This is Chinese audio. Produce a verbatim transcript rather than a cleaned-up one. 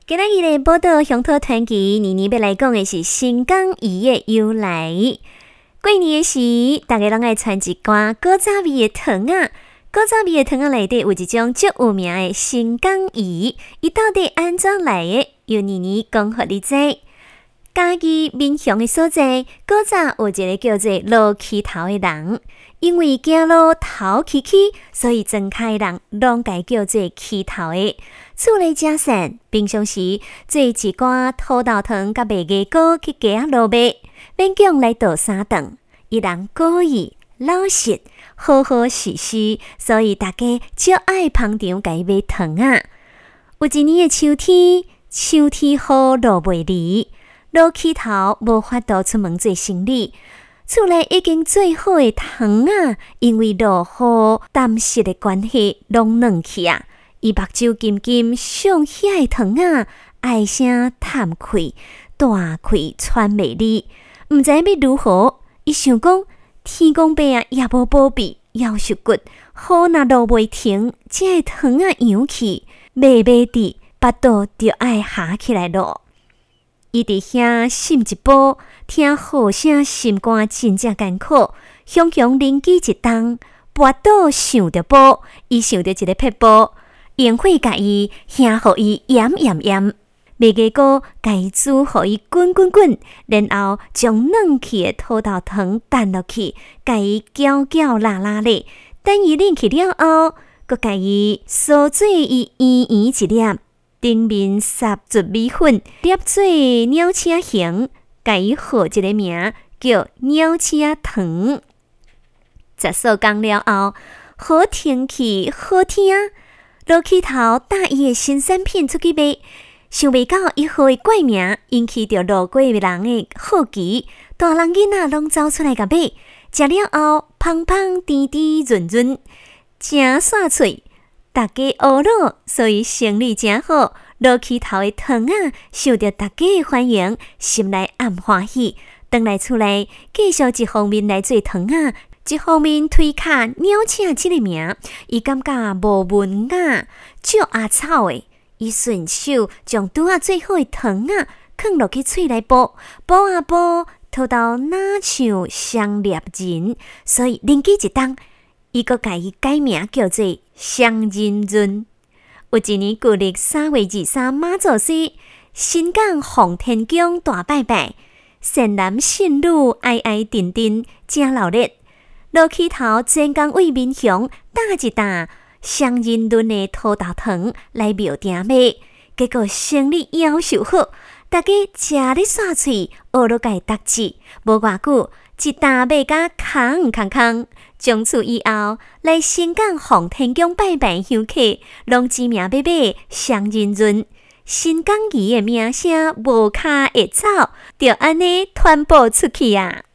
今仔日的报道乡土传奇，妮妮要来讲的是新港鱼的由来。过年的时，大家拢爱传一罐古早味的糖仔。古早味的糖仔内底有一种足有名的新港鱼，伊到底安怎来的？由妮妮讲互你知。嘉义民雄的所在，古早有一个叫做罗溪头的人，因为走路头崎崎，所以庄脚的人拢改叫做溪头的。厝内食散，平常时做一罐土豆糖甲麦芽糕去街仔落卖，勉强来倒三顿。伊人故意老实，好好实实，所以大家足爱捧场甲伊买糖啊。有一年的秋天，秋天好落袂离，罗溪头无法度出门做生理，厝内已经做好的糖啊，因为落雨淡湿的关系，拢软去啊。伊目睭金金上遐的糖啊，唉声叹气，大气喘袂离，毋知要如何。伊想讲，天公伯啊也无保庇，夭寿骨，雨若落袂停，这个糖啊扬去，卖卖伫巴肚就爱下起来咯。伊伫遐心一步，听雨声，心肝真正艰苦，雄雄灵机一动，跋倒想着补，伊想着一个撇步。用火甲伊烘互伊炎炎炎，麦芽糕甲伊煮互伊滚滚滚，然后将软去的土豆糖弹落去，甲伊搅搅拉拉咧。等伊冷去了后，佮甲伊烧水伊圆圆一粒，顶面撒糯米粉，捏做鸟车形，甲伊号一个名叫鸟车糖。十数工了后，好天气，好天。罗溪头带伊的新产品出去卖，想袂到伊号的怪名引起着路过的人的好奇，大人囡仔拢走出来甲买，食了后芳芳甜甜润润，真煞脆，大家学咯，所以生意真好。罗溪头的糖仔受到大家的欢迎，心内暗欢喜，回来厝内继续一方面来做糖仔。一方面推卡鸟车这个名，伊感觉无文雅，足阿草的。伊顺手将拄啊做好的糖啊，放落去喙内剥，剥啊剥，吐到哪像香猎人，所以灵机一动，伊阁甲伊改名叫做香人润。有一年旧历三月二三妈祖节，新港奉天宫大拜拜，善男信女哀哀沉沉，真热烈。罗溪头专工为民雄打一担香人润的土豆糖来庙埕卖，结果生意夭寿好，大家食咧煞喙，学落甲伊答字，无偌久，一担卖甲空空空。从此以后，来新港奉天宫拜拜香客，拢指名要买香人润。新港鱼的名声无卡会走，就安尼传播出去啊！